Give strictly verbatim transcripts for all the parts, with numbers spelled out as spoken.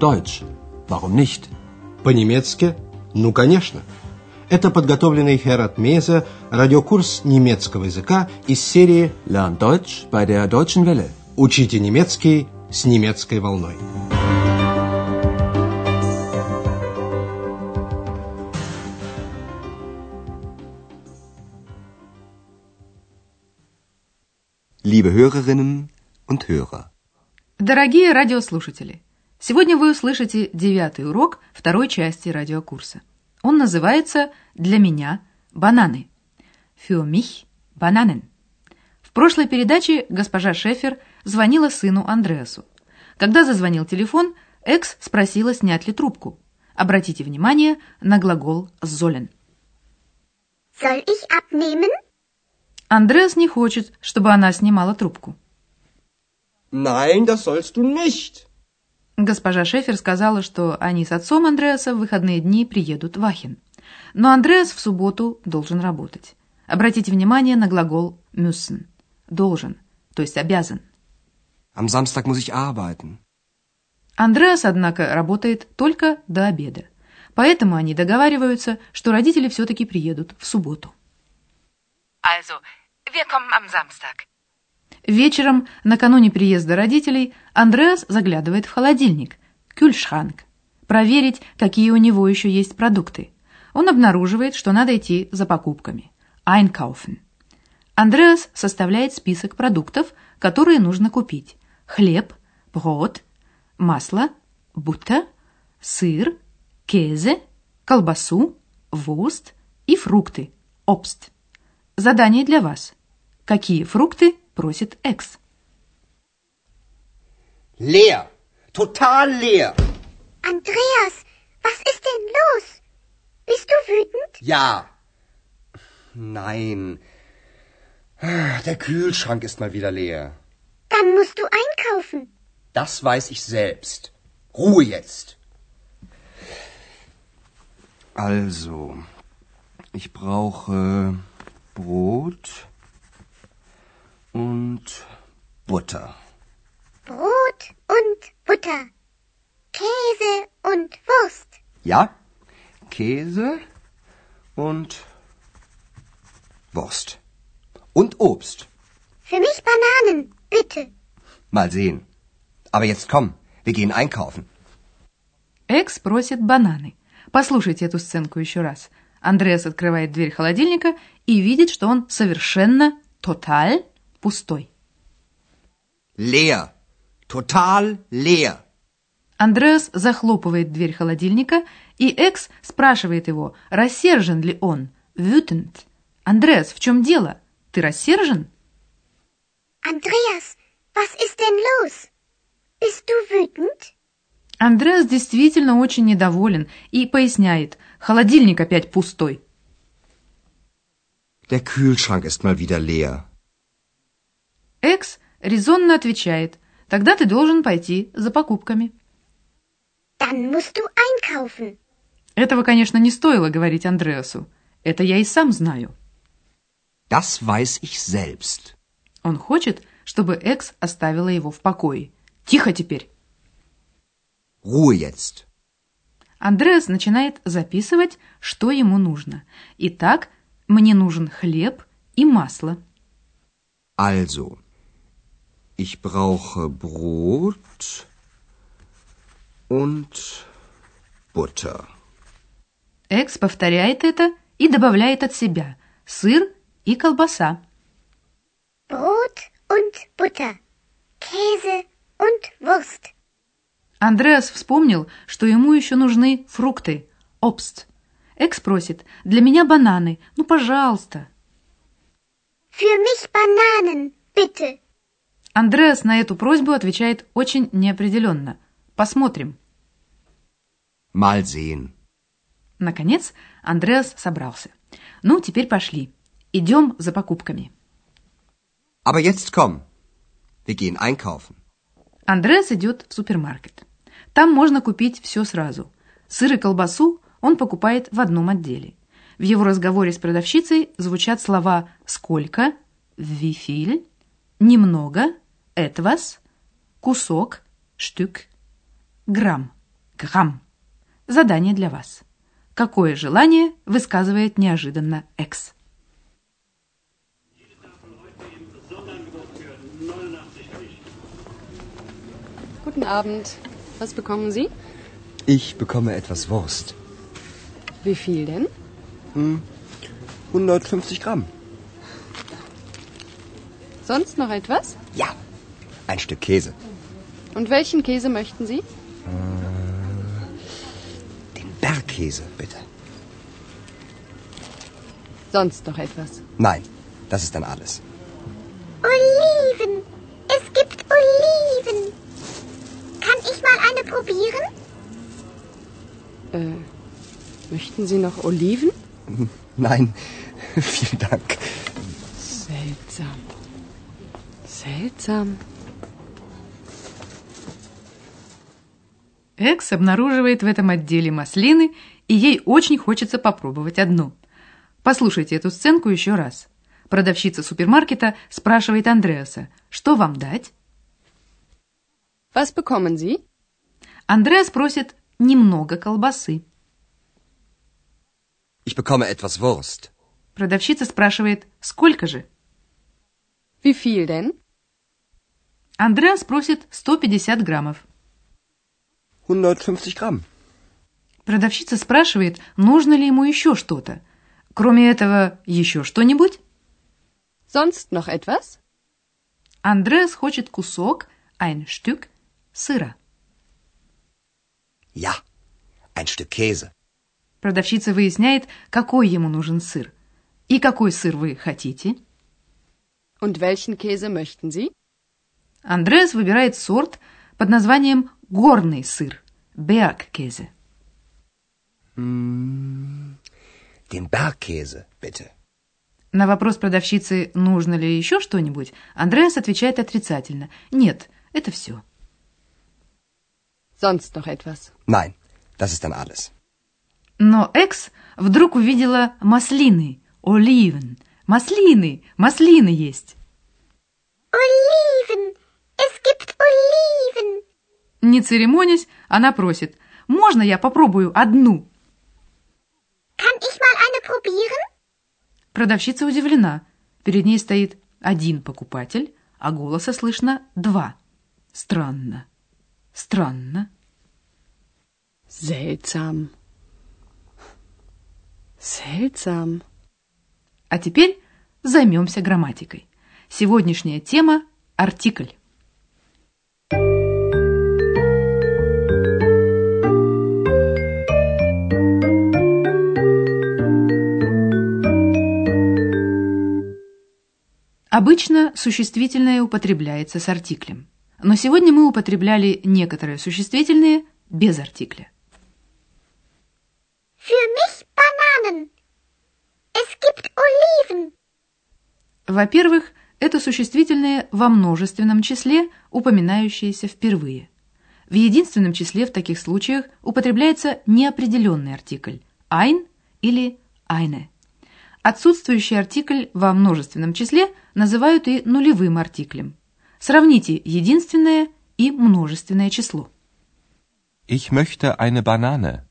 Deutsch. Warum nicht? По-немецки? Ну, конечно. Это подготовленный Херат Мейзе радиокурс немецкого языка из серии Lern Deutsch bei der Deutschen Welle. «Учите немецкий с немецкой волной». Liebe Hörerinnen und Hörer. Дорогие радиослушатели, сегодня вы услышите девятый урок второй части радиокурса. Он называется «Для меня бананы». Für mich Bananen. В прошлой передаче госпожа Шефер звонила сыну Андреасу. Когда зазвонил телефон, Экс спросила, снять ли трубку. Обратите внимание на глагол sollen. Soll ich abnehmen? Андреас не хочет, чтобы она снимала трубку. Nein, das sollst du nicht. Госпожа Шефер сказала, что они с отцом Андреаса в выходные дни приедут в Ахен. Но Андреас в субботу должен работать. Обратите внимание на глагол müssen. Должен, то есть обязан. Am Samstag muss ich arbeiten. Андреас, однако, работает только до обеда. Поэтому они договариваются, что родители все-таки приедут в субботу. Also, wir kommen am Samstag. Вечером, накануне приезда родителей, Андреас заглядывает в холодильник, Kühlschrank, проверить, какие у него еще есть продукты. Он обнаруживает, что надо идти за покупками. Einkaufen. Андреас составляет список продуктов, которые нужно купить. Хлеб, Brot, масло, Butter, сыр, Käse, колбасу, Wurst и фрукты, Obst. Задание для вас. Какие фрукты просит Экс? Leer. Total leer. Andreas, was ist denn los? Bist du wütend? Ja. Nein. Der Kühlschrank ist mal wieder leer. Dann musst du einkaufen. Das weiß ich selbst. Ruhe jetzt. Also, ich brauche Brot und Butter. Brot und Butter. Käse und Wurst. Ja, Käse und Wurst. Und Obst. Für mich Bananen, bitte. Mal sehen. Aber jetzt komm, wir gehen einkaufen. Экс просит бананы. Послушайте эту сценку еще раз. Андреас открывает дверь холодильника и видит, что он совершенно, total, пустой. Leer. Total leer. Андреас захлопывает дверь холодильника, и Экс спрашивает его, рассержен ли он. Wütend. Андреас, в чем дело? Ты рассержен? Andreas, was ist denn los? Bist du wütend? Андреас действительно очень недоволен и поясняет, холодильник опять пустой. Der Kühlschrank ist mal wieder leer. Экс резонно отвечает, тогда ты должен пойти за покупками. Dann musst du einkaufen. Этого, конечно, не стоило говорить Андреасу. Это я и сам знаю. Das weiß ich selbst. Он хочет, чтобы Экс оставила его в покое. Тихо теперь. Ruhe jetzt. Андреас начинает записывать, что ему нужно. Итак, мне нужен хлеб и масло. Also, ich brauche Brot und Butter. Экс повторяет это и добавляет от себя сыр и колбаса. Brot und Butter. Käse und Wurst. Андреас вспомнил, что ему еще нужны фрукты, Obst. Экс просит, для меня бананы, ну, пожалуйста. Für mich Bananen, bitte. Андреас на эту просьбу отвечает очень неопределенно. Посмотрим. Mal sehen. Наконец, Андреас собрался. Ну, теперь пошли. Идем за покупками. Aber jetzt komm. Wir gehen einkaufen. Андреас идет в супермаркет. Там можно купить все сразу. Сыр и колбасу он покупает в одном отделе. В его разговоре с продавщицей звучат слова «сколько», «wie viel», «немного», «etwas», «кусок», «stück», «грамм». грамм. Задание для вас. Какое желание высказывает неожиданно Экс? Guten Abend. Was bekommen Sie? Ich bekomme etwas Wurst. Wie viel denn? Hm, hundertfünfzig Gramm. Sonst noch etwas? Ja, ein Stück Käse. Und welchen Käse möchten Sie? Den Bergkäse, bitte. Sonst noch etwas? Nein, das ist dann alles. Oliven. Es gibt Oliven. Kann ich mal eine probieren? Äh, möchten Sie noch Oliven? Nein, vielen Dank. Seltsam. Seltsam. Экс обнаруживает в этом отделе маслины, и ей очень хочется попробовать одну. Послушайте эту сценку еще раз. Продавщица супермаркета спрашивает Андреаса, что вам дать? Was bekommen Sie? Андреас просит немного колбасы. Ich bekomme etwas Wurst. Продавщица спрашивает, сколько же? Wie viel denn? Андреас просит сто пятьдесят граммов. hundertfünfzig Gramm. Продавщица спрашивает, нужно ли ему еще что-то. Кроме этого, еще что-нибудь? Sonst noch etwas? Андреас хочет кусок, ein Stück, сыра. Ja, ein Stück Käse. Продавщица выясняет, какой ему нужен сыр. И какой сыр вы хотите? Und welchen Käse möchten Sie? Андреас выбирает сорт под названием горный сыр, Bergkäse. Mm, den Bergkäse, bitte. На вопрос продавщицы, нужно ли еще что-нибудь, Андреас отвечает отрицательно. Нет, это все. Sonst noch etwas? Nein, das ist dann alles. Но Экс вдруг увидела маслины, Oliven. Маслины, маслины есть. Oliven. Es gibt Oliven. Не церемонясь, она просит, можно я попробую одну? Kann ich mal eine probieren? Продавщица удивлена. Перед ней стоит один покупатель, а голоса слышно два. Странно. Странно. Seltsam. Seltsam. А теперь займемся грамматикой. Сегодняшняя тема – артикль. Обычно существительное употребляется с артиклем, но сегодня мы употребляли некоторые существительные без артикля. Für mich Bananen. Es gibt Oliven. Во-первых, это существительные во множественном числе, упоминающиеся впервые. В единственном числе в таких случаях употребляется неопределенный артикль ein или eine. Отсутствующий артикль во множественном числе называют и нулевым артиклем. Сравните единственное и множественное число. Ich möchte eine Banane.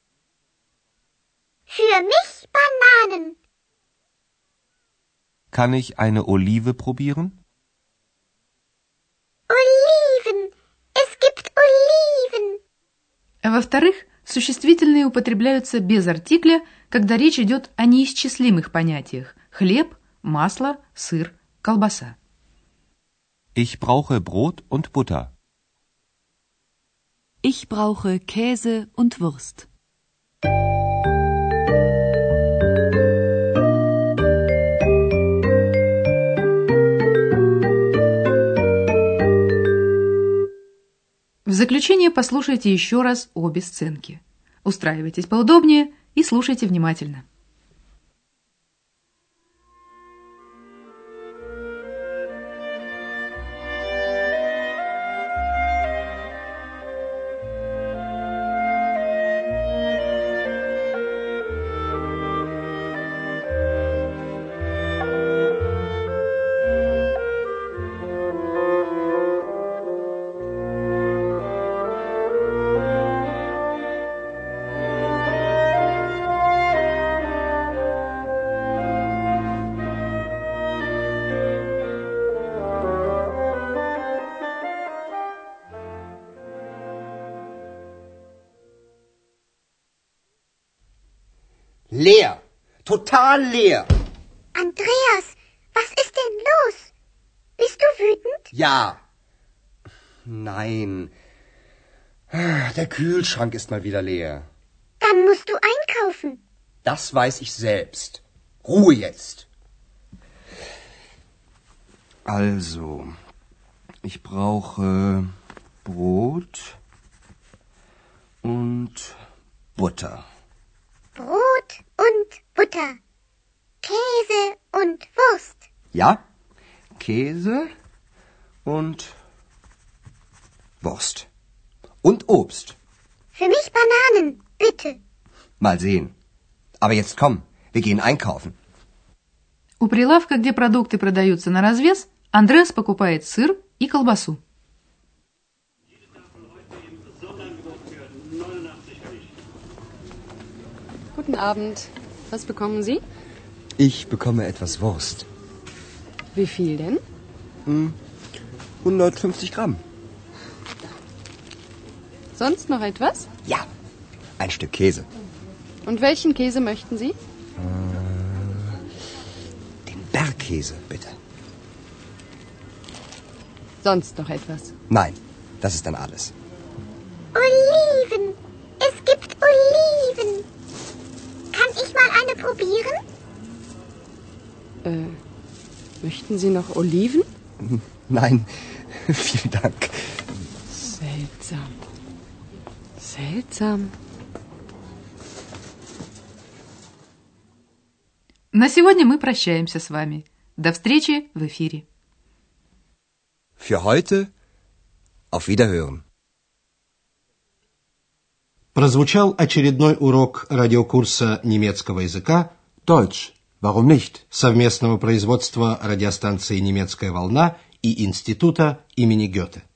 Für mich Bananen. Kann ich eine Olive probieren? Oliven. Es gibt Oliven. Во-вторых, существительные употребляются без артикля, когда речь идет о неисчислимых понятиях – хлеб, масло, сыр, колбаса. Ich brauche Brot und Butter. Ich brauche Käse und Wurst. В заключение послушайте еще раз обе сценки. Устраивайтесь поудобнее и слушайте внимательно. Leer. Total leer. Andreas, was ist denn los? Bist du wütend? Ja. Nein. Der Kühlschrank ist mal wieder leer. Dann musst du einkaufen. Das weiß ich selbst. Ruhe jetzt. Also, ich brauche Brot und Butter. Brot und Butter. Käse und Wurst. Ja, Käse und Wurst. Und Obst. Für mich Bananen, bitte. Mal sehen. Aber jetzt komm, wir gehen einkaufen. У прилавка, где продукты продаются на развес, Андреас покупает сыр и колбасу. Guten Abend. Was bekommen Sie? Ich bekomme etwas Wurst. Wie viel denn? Hm, hundertfünfzig Gramm. Sonst noch etwas? Ja, ein Stück Käse. Und welchen Käse möchten Sie? Den Bergkäse, bitte. Sonst noch etwas? Nein, das ist dann alles. Oliven. Es gibt Oliven. Kann ich mal eine probieren? Äh, möchten Sie noch Oliven? Nein, vielen Dank. Seltsam. Seltsam. На сегодня мы прощаемся с вами. До встречи в эфире. Für heute auf Wiederhören. Прозвучал очередной урок радиокурса немецкого языка Deutsch, warum nicht? совместного производства радиостанции «Немецкая волна» и Института имени Гёте.